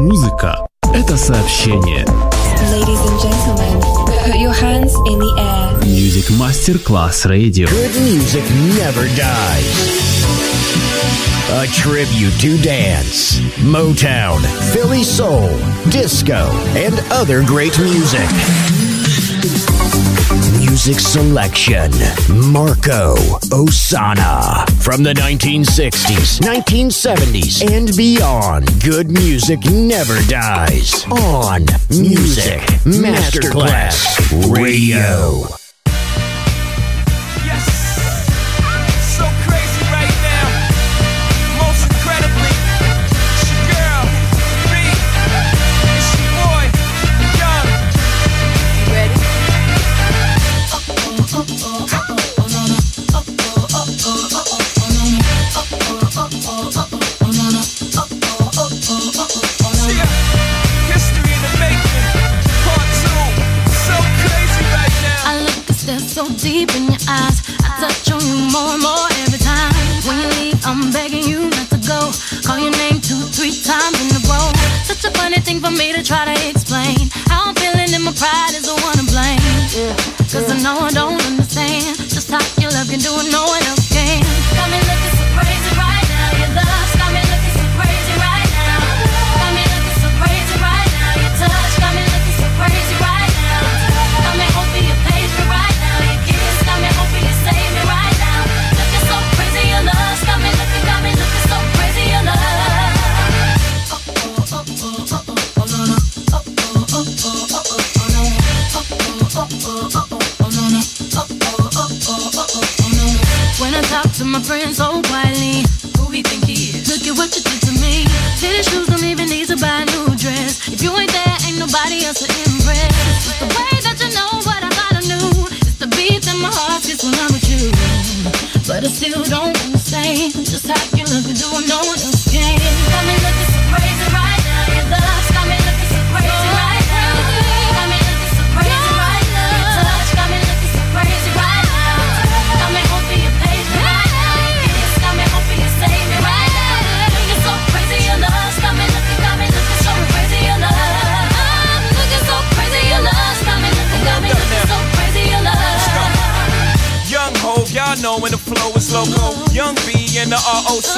Музыка – это сообщение. Ladies and gentlemen, put your hands in the air. Music Masterclass Radio. Good music never dies. A tribute to dance, Motown, Philly soul, disco, and other great music. Music selection, Marco Ossanna. From the 1960s, 1970s, and beyond, good music never dies. On Music Masterclass Radio. Deep in your eyes, I touch on you more and more every time. When you leave, I'm begging you not to go. Call your name 2-3 times in a row. Such a funny thing for me to try to explain. How I'm feeling and my pride is the one to blame. Cause I know I don't understand just how your love can do it, no one else can. Got me looking so crazy right now. Your love's got me looking so crazy right now. Got me looking so crazy right now. Your touch got me looking so crazy right now. Got me hoping you page me right now. Got me hoping you save me right now. Looking so crazy, your love got me looking so crazy, your love. When I talk to my friends so quietly, who he think he is? Look at what you did to me. Fitted shoes don't even need to buy a new dress. If you ain't there, ain't nobody else to impress. It's the way that you know what I thought I knew. The beat in my heart gets when I'm with you. But I still don't understand just how you look and do what no one else can. Got me looking so crazy right now. Your love's got me looking so crazy right now. Got me looking so crazy right now. Your touch got me looking so crazy right now. Got me hoping you page me right now. Your kiss got me hoping you save me right now. Looking so crazy, your love's got me looking so crazy, your love. I'm looking so crazy, your love's got me looking so crazy, your love. Young Hov, y'all know when the flow is loco. Young B and the ROC.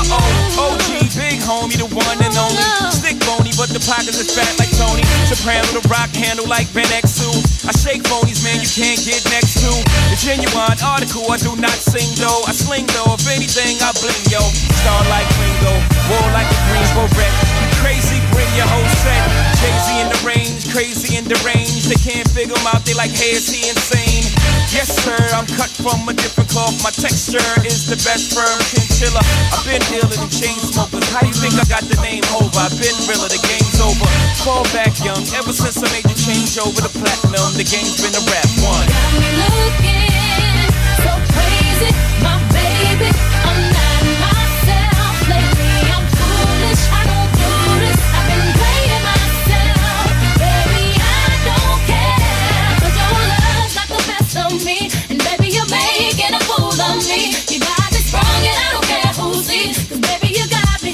OG, big homie, the one and only. Stick bony, but the pockets is fat like Tony. Soprano, the rock handle like Ben X2. I shake phonies, man, you can't get next to. The genuine article, I do not sing though. I sling though, if anything, I bling yo. Star like Ringo, war like a Greensboro wreck. Crazy, bring your whole set. Jay-Z in the range, crazy in the range. They can't figure him out, they like, hey, is he insane? Yes, sir, I'm cut from a different cloth. My texture is the best firm chinchilla. I've been dealing in chain smokers. How you think I got the name over? I've been realer, the game's over. Fall back young, ever since I made the change over to platinum. The game's been a rap one. Got me looking so crazy, my baby. I'm not myself lately. I'm foolish, I don't do this. I've been playing myself, baby. I don't care, 'cause your love's got the best of me, and baby you're making a fool of me. You got me sprung, and I don't care who sees, 'cause baby you got me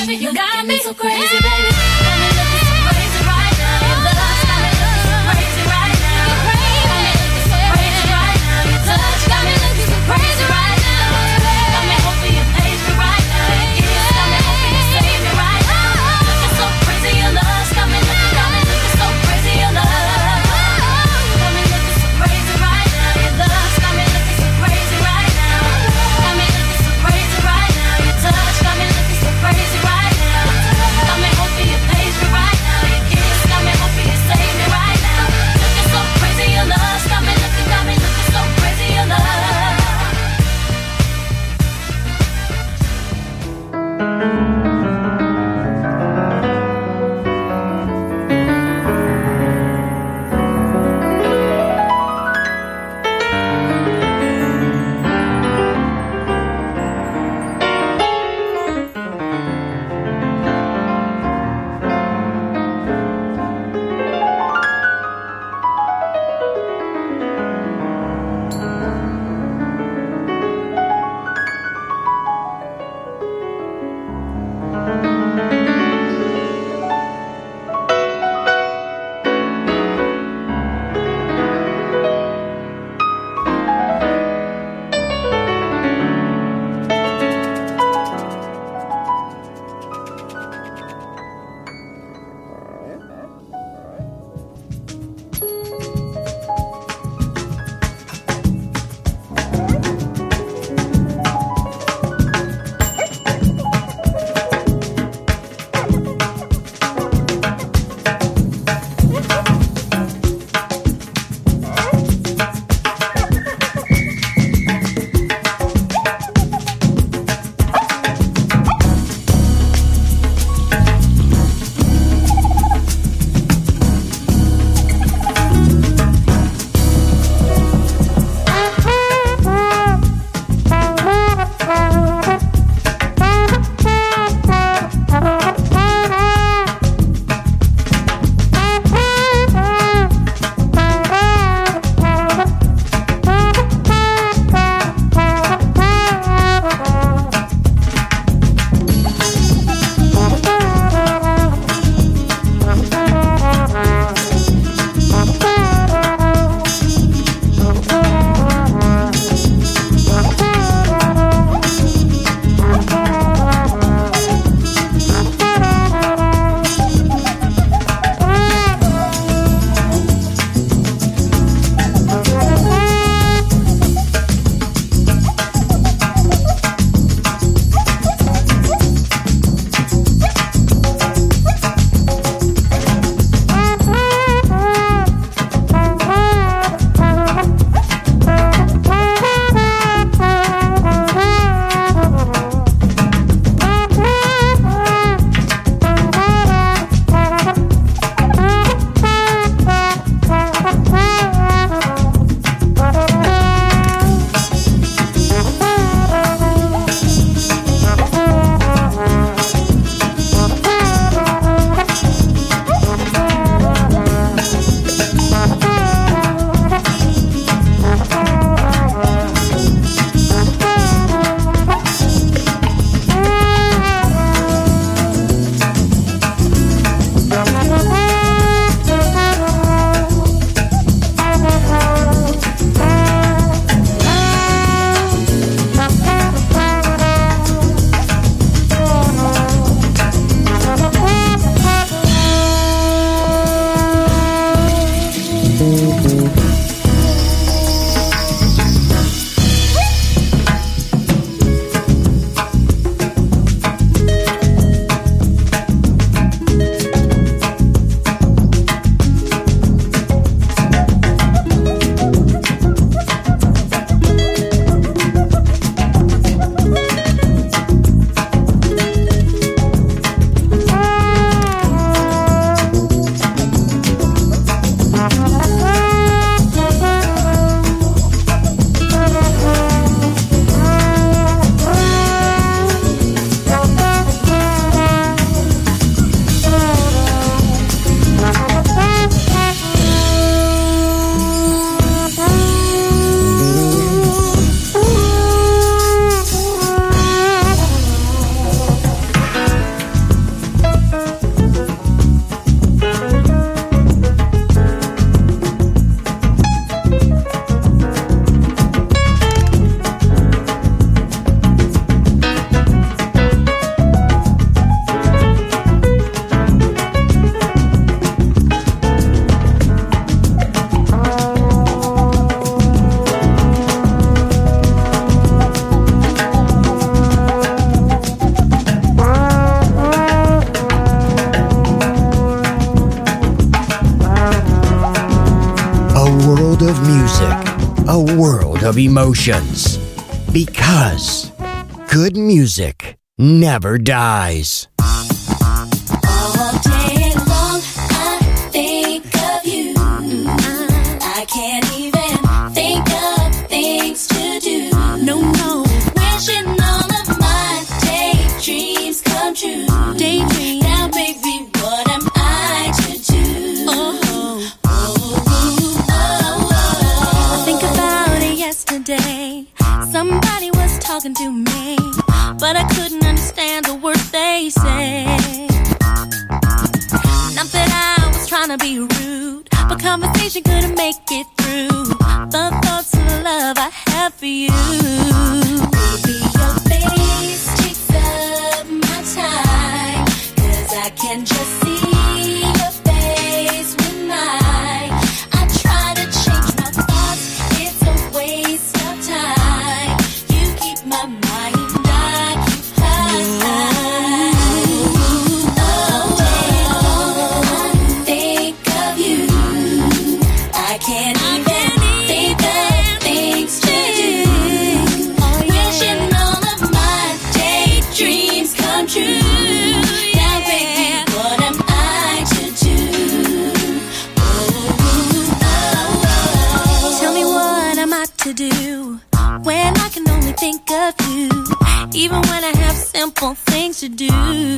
so crazy, baby. Got me looking so crazy right now. Your love's got me looking so crazy right now. Got me looking so crazy right now. Your touch got me looking so crazy right now. Got me hoping you page me right now. Your kiss got me hoping you save me right now. Looking so crazy, your love's got me looking so crazy, your love. Got me looking so crazy right now. Your love's got me looking so crazy right now. Got me looking so crazy right now. Your touch got me looking so crazy right now. Got me hoping you a world of emotions. Because good music never dies. All day long, I think of you. I can't even think of things to do. No, no. Wishing all of my daydreams come true. Daydream. Now, baby, what am I to do? I think about it yesterday. Somebody was talking to me, but I couldn't understand the words they said. Not that I was trying to be rude, but conversation couldn't make it through. The thoughts of the love I have for you. Baby, your face takes up my time, 'cause I can just see your face with mine. I try to change my thoughts, it's a waste of time. You keep my mind occupied. All day long, I think of you. I can't even think of things to do. Wishing all of my daydreams come true. Now, baby, what am I to do? Tell me what am I to do when I can only think of you, even when I have simple things to do,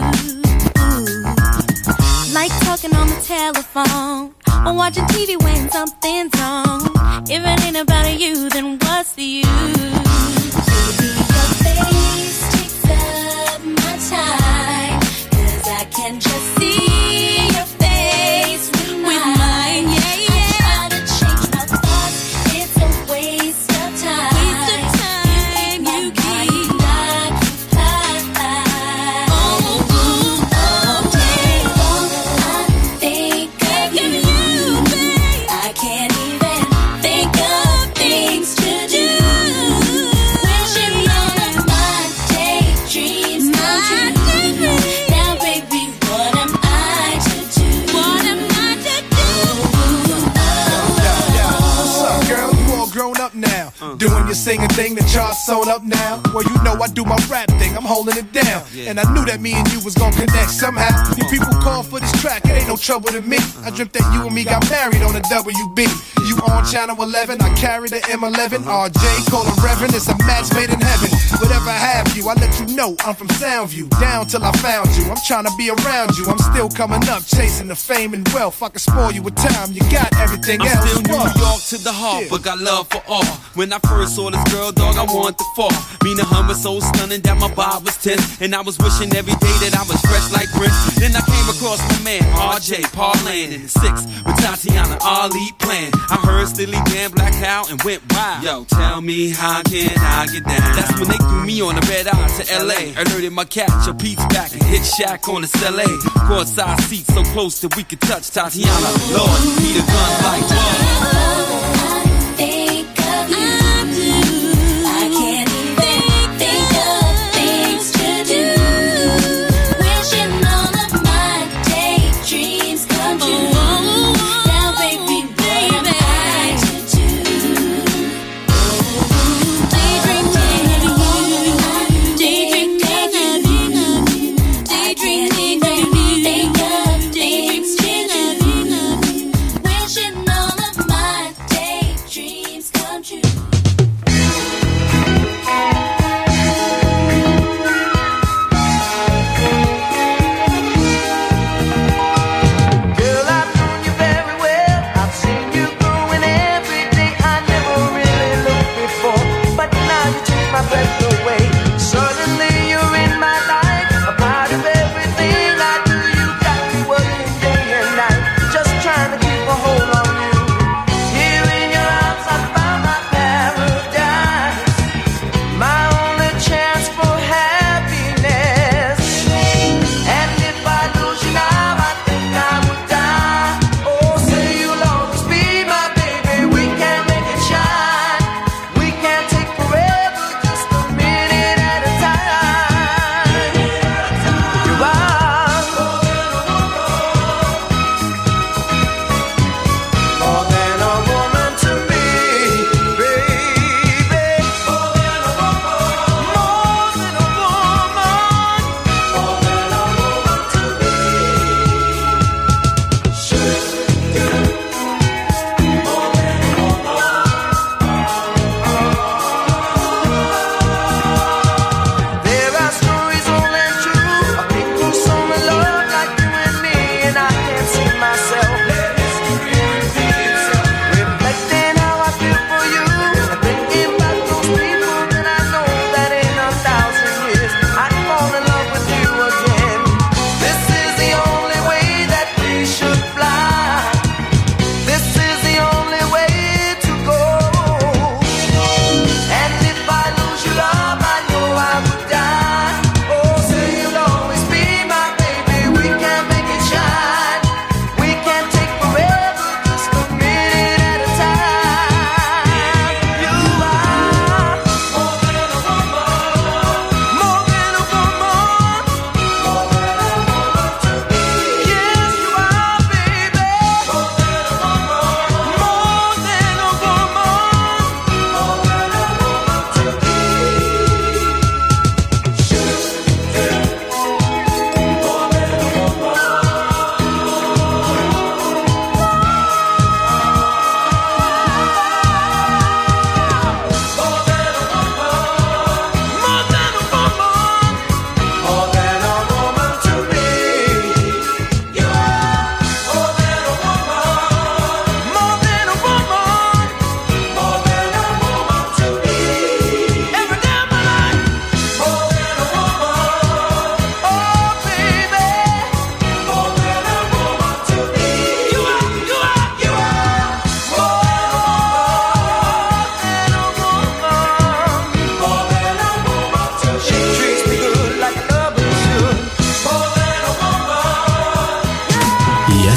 like talking on the telephone or watching TV when something's wrong. If it ain't about you, then what's the use? Baby, your face takes up my time, 'cause I can just see your face with mine. Yeah, yeah. I try to change my thoughts, it's a waste of time. You keep my mind occupied. All day long, I think of you. I can't even think of things to do. Wishing all of my daydreams come true. Now, baby, what am I to do? What am I to do? What's up, girl? You all grown up now. Doing your singing thing, the charts sewn up now. Well, you know I do my rap thing, I'm holding it down. And I knew that me and you was gonna connect somehow. You people call for this track, it ain't no trouble to me. I dreamt that you and me got married on the WB. You on channel 11, I carry the M11. RJ, call him Reverend, it's a match made in heaven. Whatever I have you, I let you know I'm from Soundview. Down till I found you, I'm trying to be around you. I'm still coming up, chasing the fame and wealth. I can spoil you with time, you got everything I'm else. still New What? York to the heart, Yeah. but got love for all. When I first saw this girl, dog, I wanted to fall. Me and her was so stunning that my vibe was tense, and I was wishing every day that I was fresh like Prince. Then I came across my man, RJ, parlaying in the 6 with Tatiana Ali playing. I heard Stilly Dan Black Cow and went wild. Yo, tell me how can I get down? That's when they threw me on the red eye to LA. Alerted my catch, a Pete's back and hit Shack on the LA. Courtside seats so close that we could touch Tatiana. Lord, need a gun like whoa. Think of you. I can't even think of things to do. Wishing all of my daydreams come true. Now, baby, what am I to do? Daydream, daydream, daydream, think of things to do. Wishing all of my daydreams.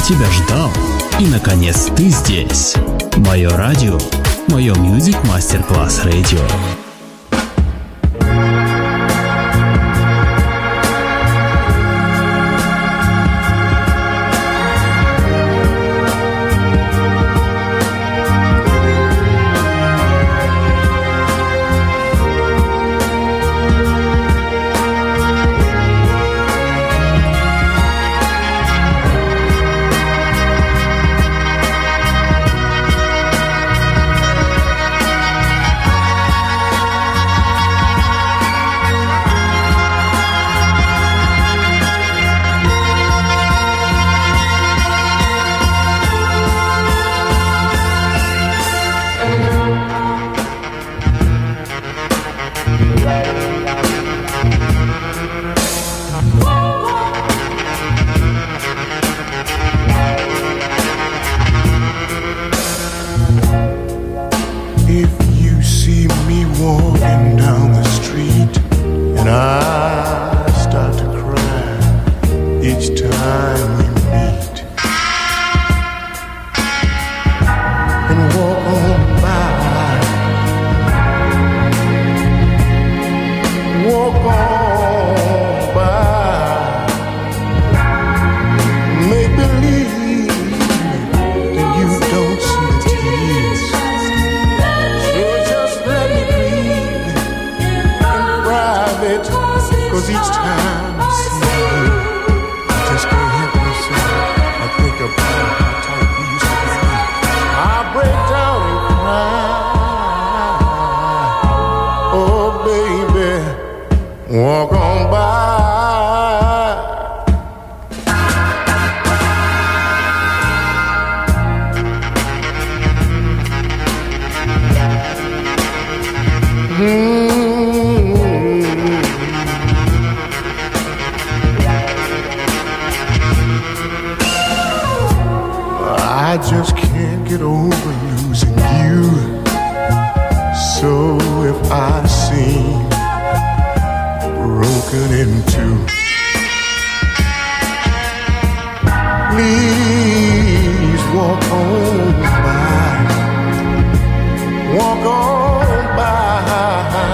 тебя ждал. И, наконец, ты здесь. Мое радио. Мое Music Masterclass Radio. I just can't get over losing you. So if I seem broken in two, please walk on by. Walk on by.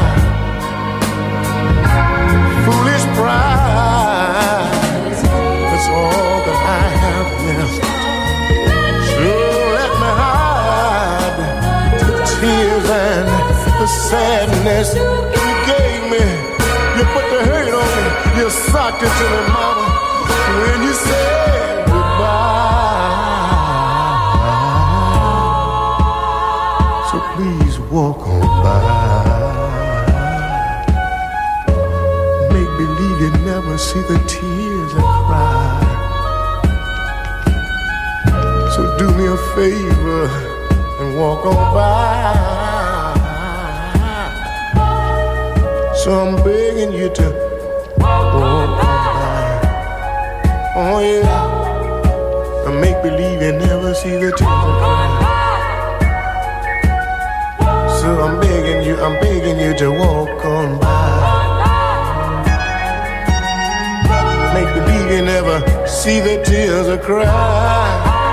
Foolish pride, that's all that I have left. The sadness you gave me, you put the hurt on me, you socked it to me, mama, when you said goodbye. So please walk on by. Make believe you never see the tears I cry. So do me a favor and walk on by. So I'm begging you to walk on by. Oh yeah, and make believe you never see the tears I cry. So I'm begging you to walk on by. Make believe you never see the tears I cry.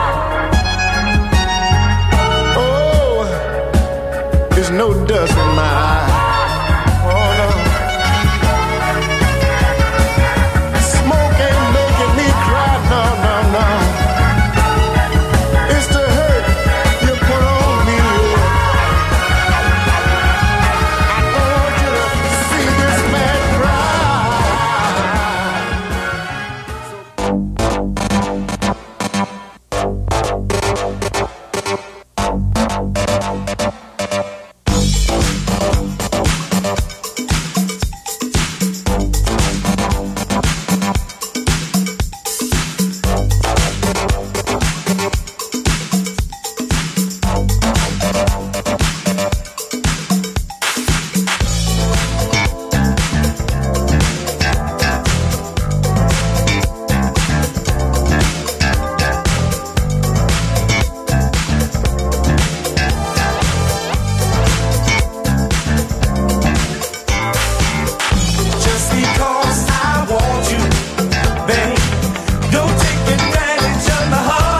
Oh, there's no dust in my eye. Don't take advantage of the heart.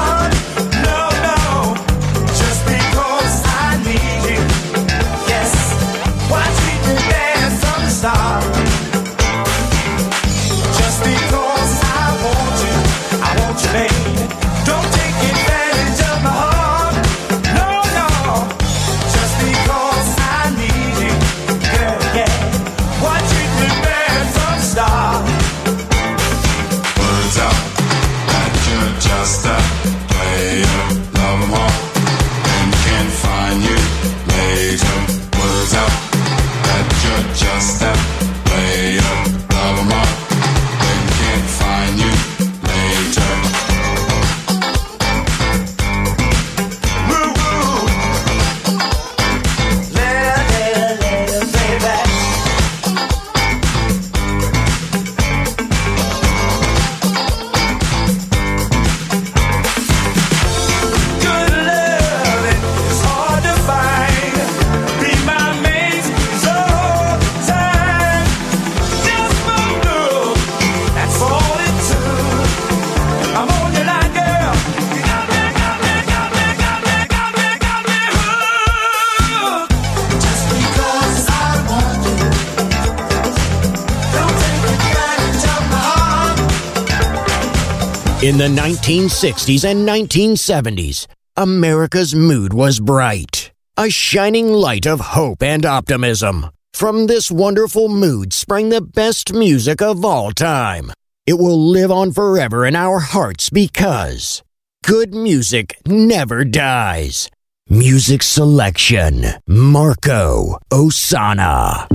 In the 1960s and 1970s, America's mood was bright, a shining light of hope and optimism. From this wonderful mood sprang the best music of all time. It will live on forever in our hearts because good music never dies. Music selection, Marco Ossanna.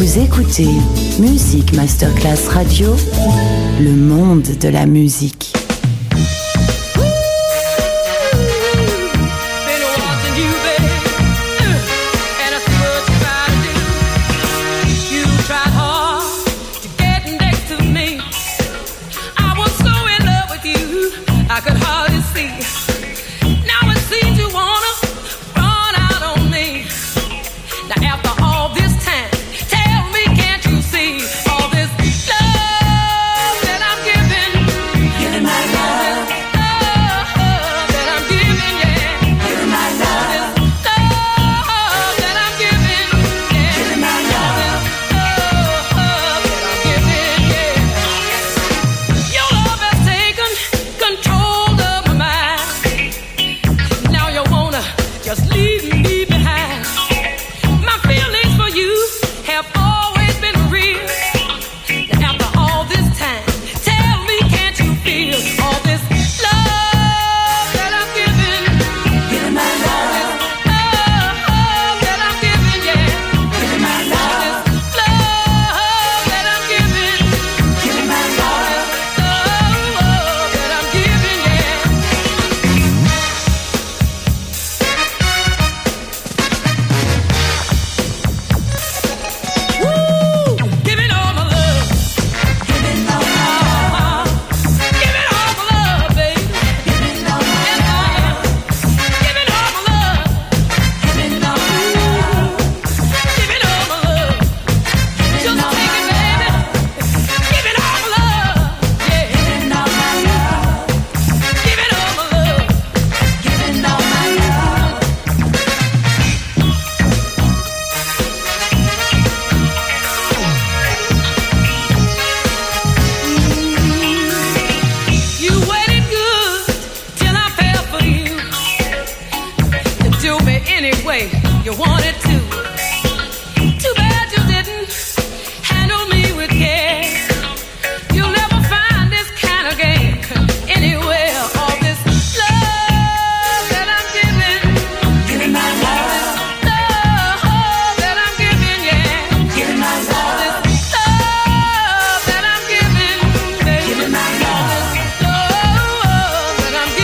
Vous écoutez Music Masterclass Radio, le monde de la musique.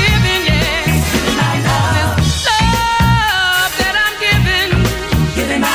Giving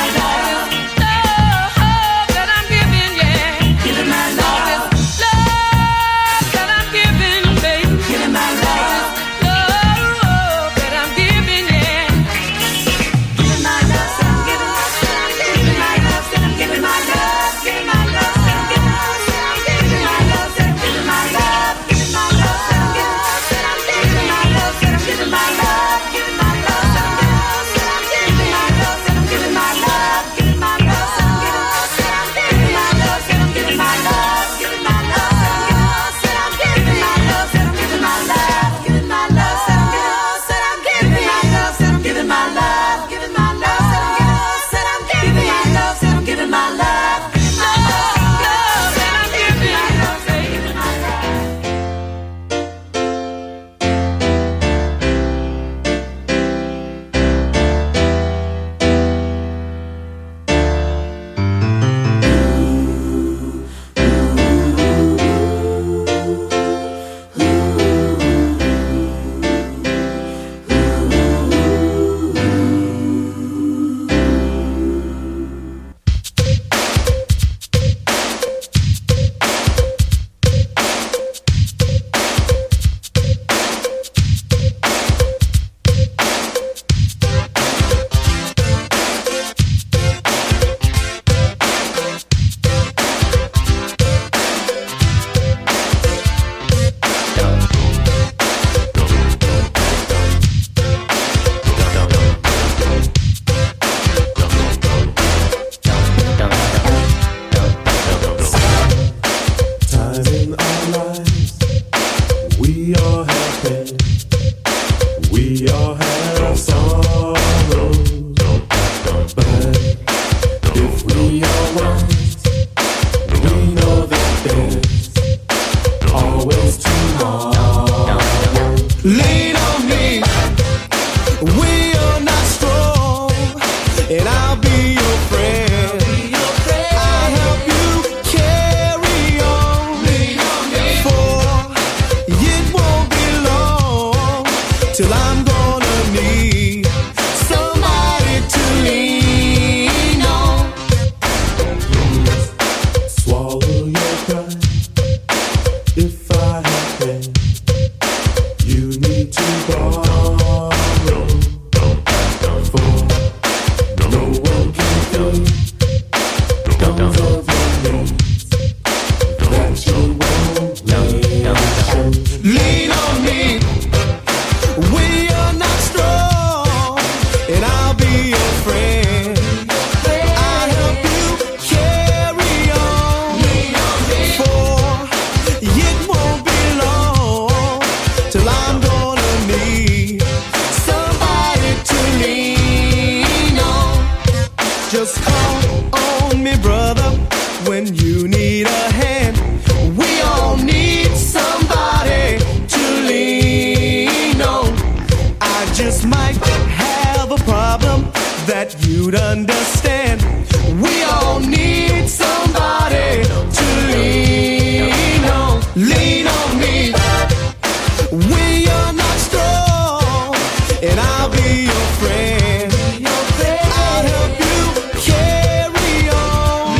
Just call on me, brother, when you need a hand. We all need somebody to lean on. I just might have a problem that you'd understand. We all need somebody to lean on. Lean on me when you're not strong, and I'll be your friend. I'll help you carry on.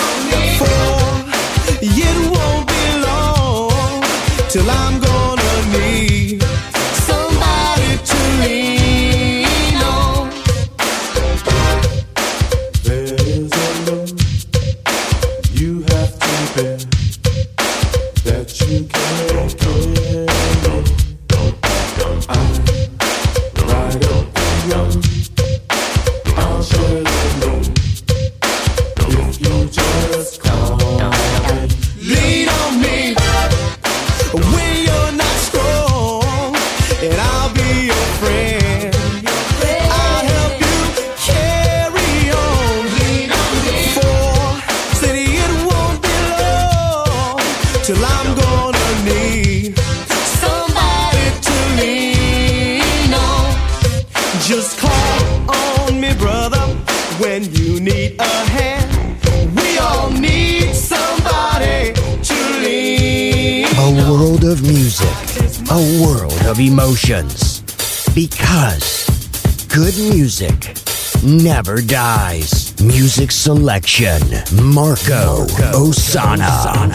For it won't be long till I'm gonna need somebody to lean on. There's a load you have to bear that you can't carry. I ride up the road, I'll share the load if you just call me. Lean on me when you're not strong, and I'll be your friend. I'll help you carry on. For city it won't be long till I'm gonna need somebody to lean on. Just call on me, brother, when you need a hand. We all need somebody to lean on. A world of music, a world of emotions. Because good music never dies. Music selection, Marco Ossanna.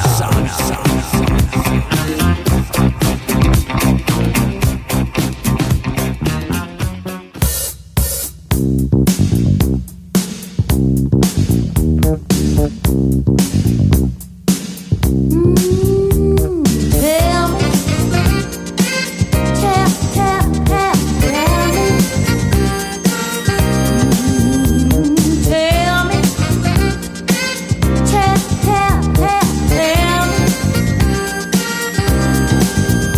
Tell me, tell me, tell me, tell me.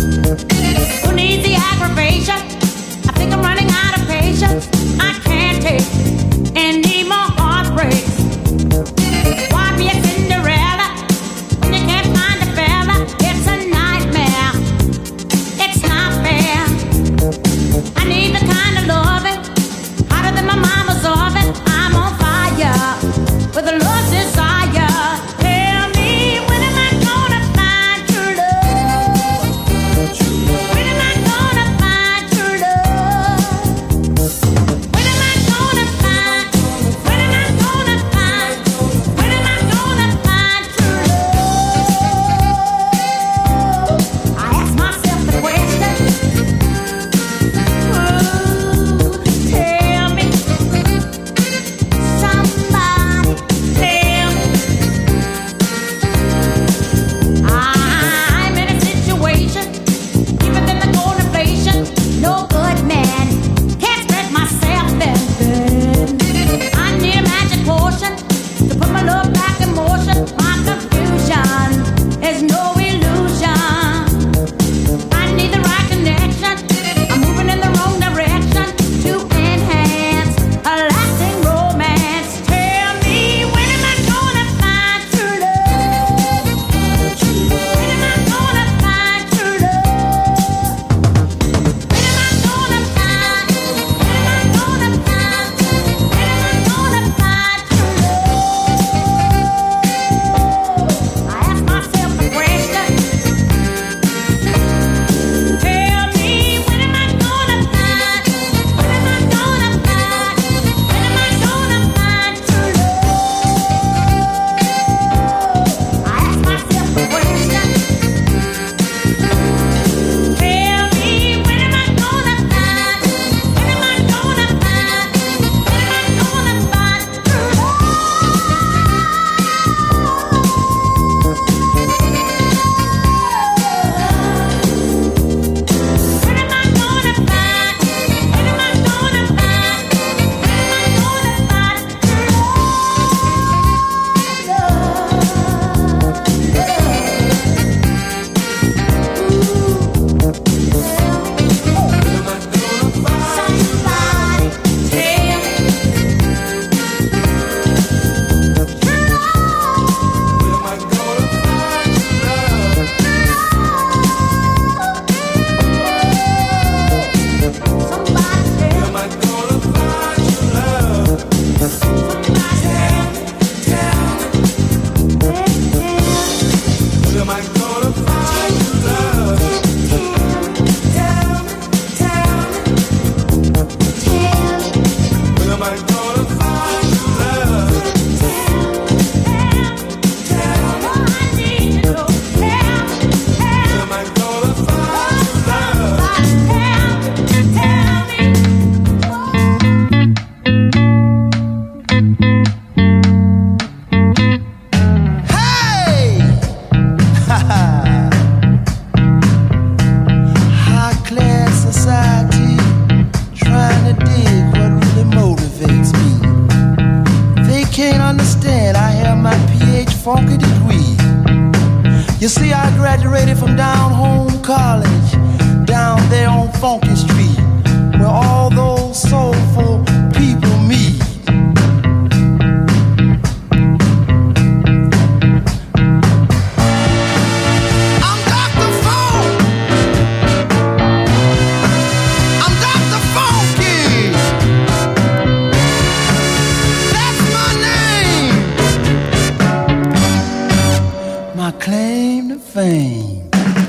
understand, I have my PH funky degree. You see, I graduated from down home college, down there on Funky Street, where all those soulful people meet. Claim to fame.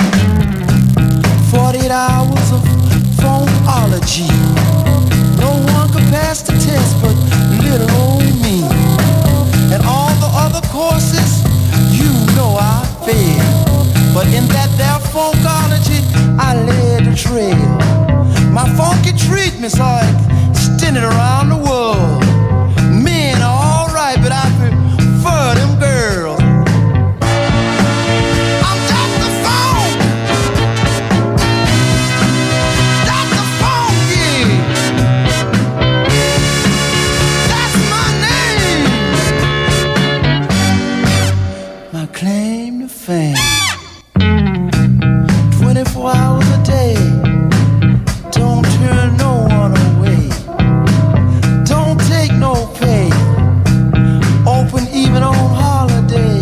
48 hours of phonology. No one could pass the test but little old me. And all the other courses, you know I failed. But in that there phonology, I led the trail. My funky treatments are extended around the world. Men are alright, but I prefer them girls. Claim to fame. 24 hours a day. Don't turn no one away. Don't take no pay. Open even on holiday.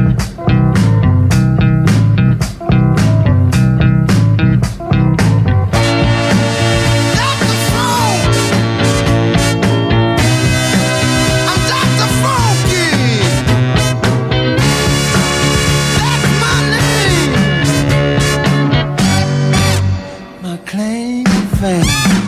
Dr. Funk. I'm Dr. Funky. Claim to fame.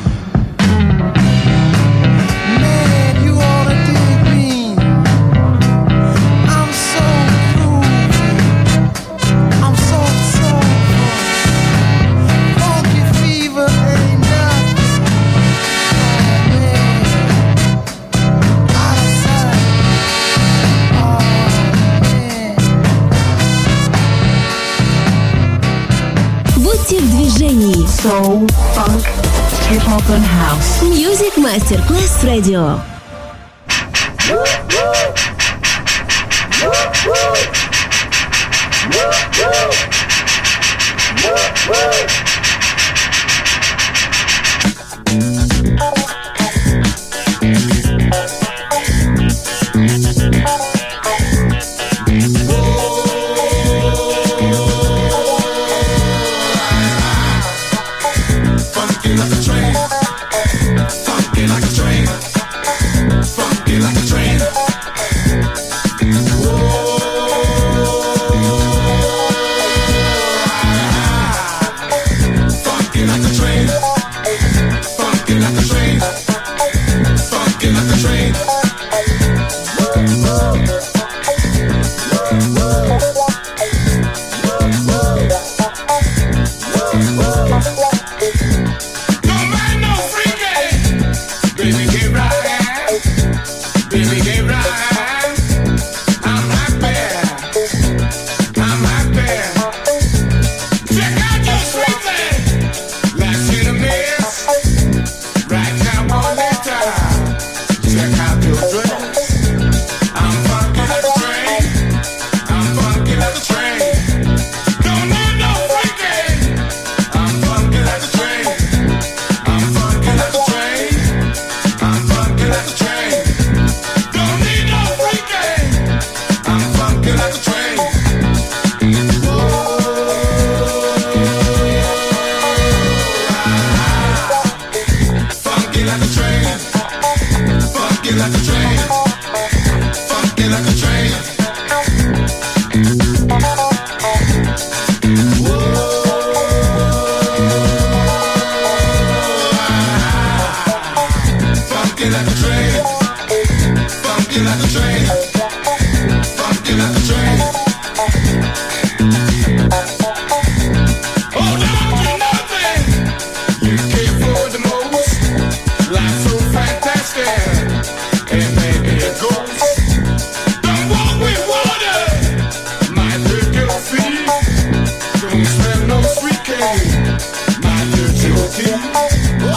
Man, you ought to dig me. I'm so groovy. I'm so soulful. Funky fever ain't nothing. Oh man, out of sight. Oh man. Будьте в движении. Soul, funk, hip-hop and house. Music Masterclass Radio.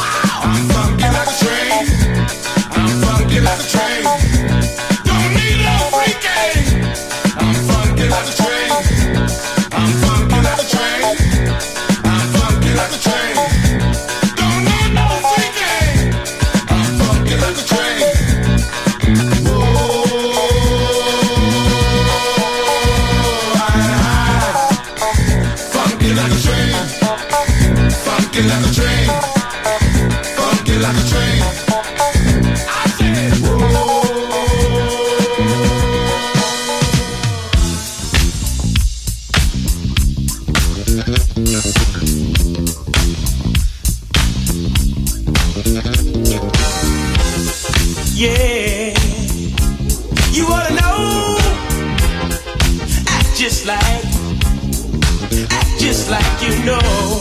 I'm funky like a train. Don't need no Yeah, you ought to know. Act just like you know.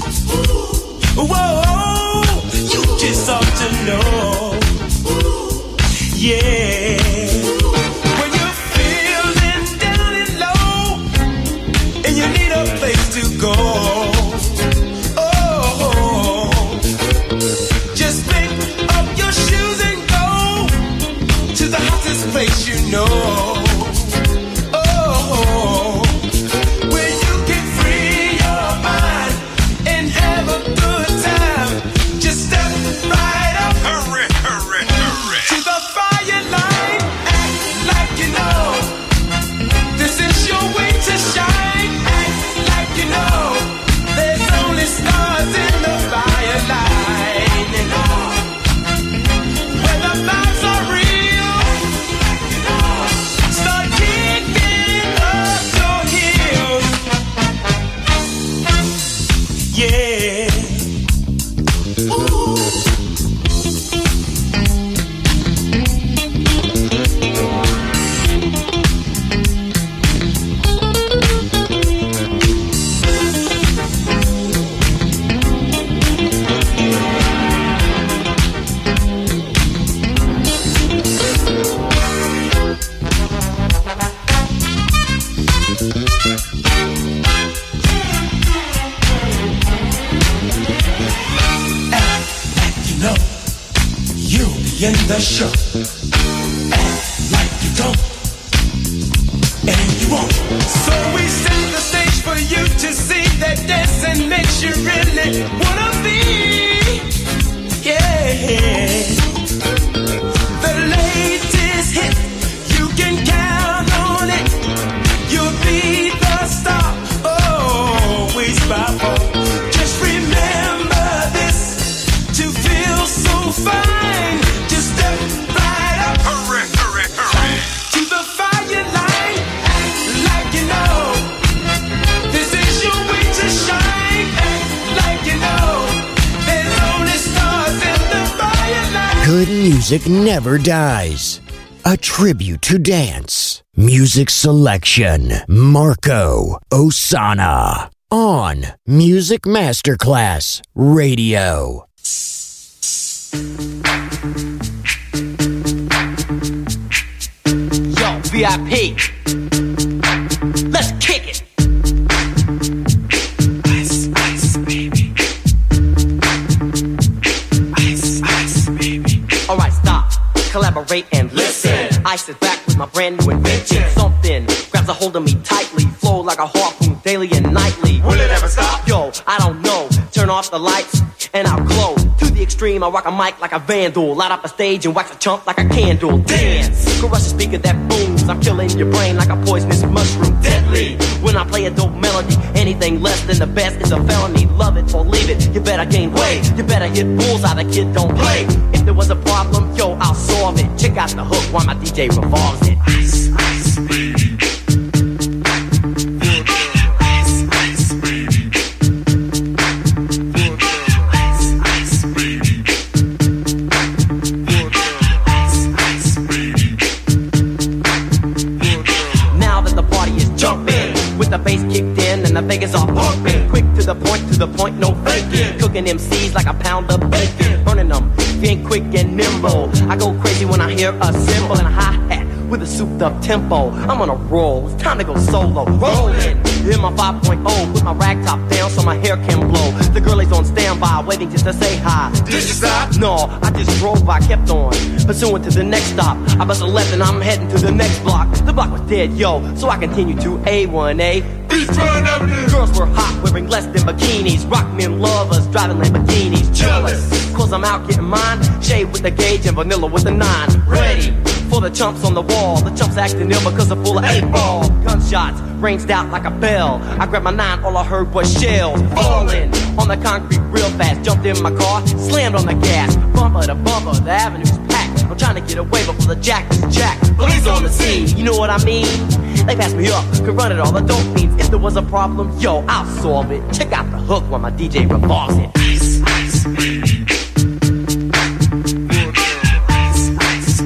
Whoa, you just ought to know. Yeah, when you're feeling down and low and you need a place to go. Oh, just pick up your shoes and go to the hottest place you know. In the show, act like you don't, and you won't. So we set the stage for you to see that dancing makes you really wanna be. Yeah, the latest hit, you can count on it. You'll be the star, always by far. Just remember this, to feel so fine. Good music never dies. A tribute to dance. Music selection. Marco Ossanna. On Music Masterclass Radio. Yo, VIP. Let's kick it. Ice, ice, baby. Ice, ice, baby. Alright, stop. Collaborate and listen. I sit back with my brand new invention. Something grabs a hold of me tightly. Flow like a harpoon daily and nightly. Will it ever stop? Yo, I don't know. Turn off the lights and I'll glow. To the extreme, I rock a mic like a vandal. Light up a stage and wax a chump like a candle. Dance! Crush a speaker that booms. I'm killing your brain like a poisonous mushroom. Deadly! When I play a dope melody, anything less than the best is a felony. Love it or leave it, you better gain weight. You better hit bullseye, the kid don't play. If there was a problem, yo, I'll solve it. Check out the hook while my DJ revolves it. Ice, ice, baby. The bass kicked in and the Vegas all pumping. Quick to the point, no faking. Cooking MCs like a pound of bacon. Burning them, being quick and nimble. I go crazy when I hear a cymbal and a hi-hat with a souped up tempo. I'm on a roll, it's time to go solo. Rolling, in my 5.0, put my rag top down so my hair can blow. The girl is on standby, waiting just to say hi. Did you stop? No, I just drove by, kept on pursuing to the next stop. I bust a left and I'm heading to the next block. The block was dead, yo, so I continue to A1A. Girls were hot, wearing less than bikinis. Rock men lovers, driving Lamborghinis. Jealous, cause I'm out getting mine. Shade with the gauge and vanilla with the 9. Ready for the chumps on the wall. The chumps acting ill because they're full of 8-ball. Gunshots ranged out like a bell. I grabbed my 9, all I heard was shells falling on the concrete real fast. Jumped in my car, slammed on the gas. Bumper to bumper, the avenue's packed. I'm trying to get away before the jack is jacked. Police on the scene, you know what I mean? They passed me up, could run it all, the dope fiends. If there was a problem, yo, I'll solve it. Check out the hook while my DJ revolves it. Ice, ice, baby. Ice, ice,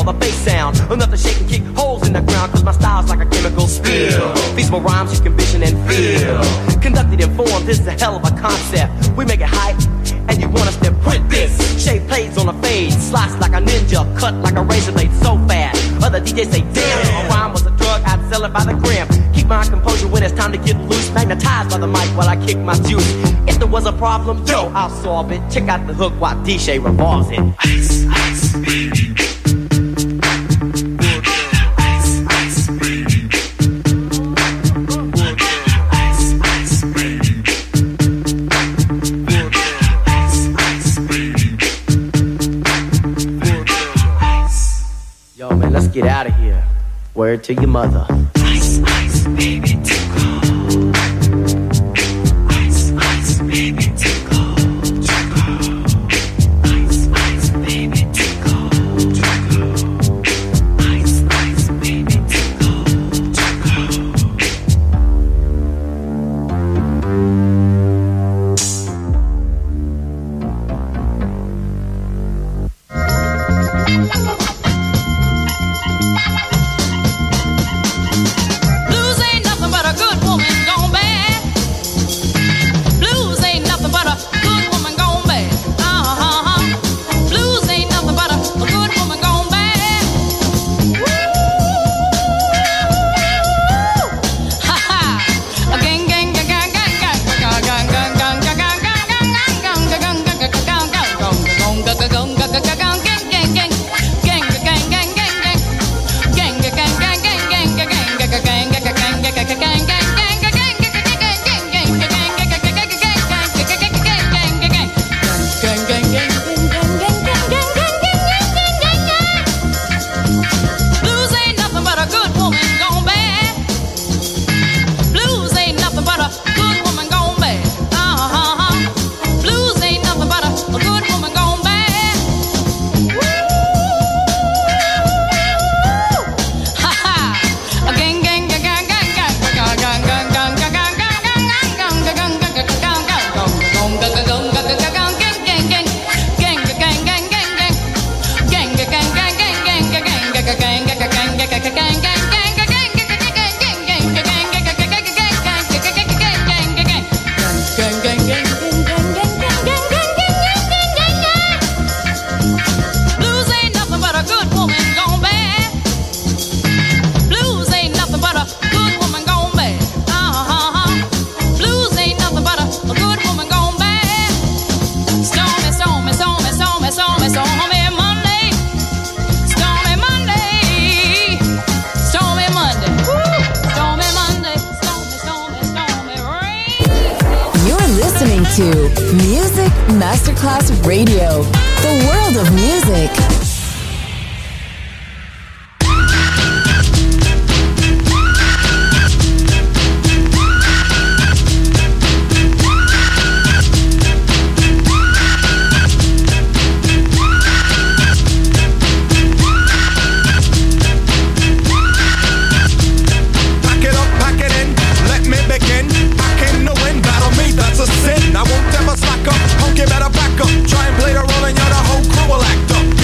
the bass sound. Enough to shake and kick holes in the ground, cause my style's like a chemical spill. Feasible rhymes you can vision and feel. Conducted in form, this is a hell of a concept. We make it hype, and you want us to print this. Shape plays on a fade, slice like a ninja, cut like a razor blade so fast. Other DJs say, damn, a rhyme was a drug, I'd sell it by the gram. Keep my composure when it's time to get loose. Magnetized by the mic while I kick my juice. If there was a problem, yo, I'll solve it. Check out the hook while DJ revolves it. Ice, ice, baby. Yo, man, let's get out of here. Word to your mother. Ice, ice, baby, too cold. Ice, ice, baby, too cold. Too cold. Ice, ice, baby, too cold. Too cold. Ice, ice, baby, too cold. Too cold. Blues ain't nothing but a good woman gone bad. Blues ain't nothing but a good woman gone bad. Blues ain't nothing but a good woman gone bad. Woo! Ha ha! Gang gang gang gang gang gang gang gang gang gang gang gang gang gang gang Blues ain't nothing but a good woman gone bad. Blues ain't nothing but a good woman gone bad. Blues ain't nothing but a good woman gone bad. Ha ha! Gang gang gang gang gang gang gang gang gang gang gang gang gang gang Blues ain't nothing but a good woman gone bad. Blues ain't nothing but a good woman gone bad. Blues ain't nothing but a good woman gone bad. Stormy, stormy, stormy, stormy, stormy, stormy Monday. Stormy Monday. Stormy Monday. Woo! Stormy Monday. Stormy, stormy, stormy rain. You're listening to Music Masterclass Radio, the world of music. Pack it up, pack it in, let me begin. I came to win, battle me, that's a sin. I won't ever slack up, punk, you better back up. Try and play the role and you're the whole crew will act up.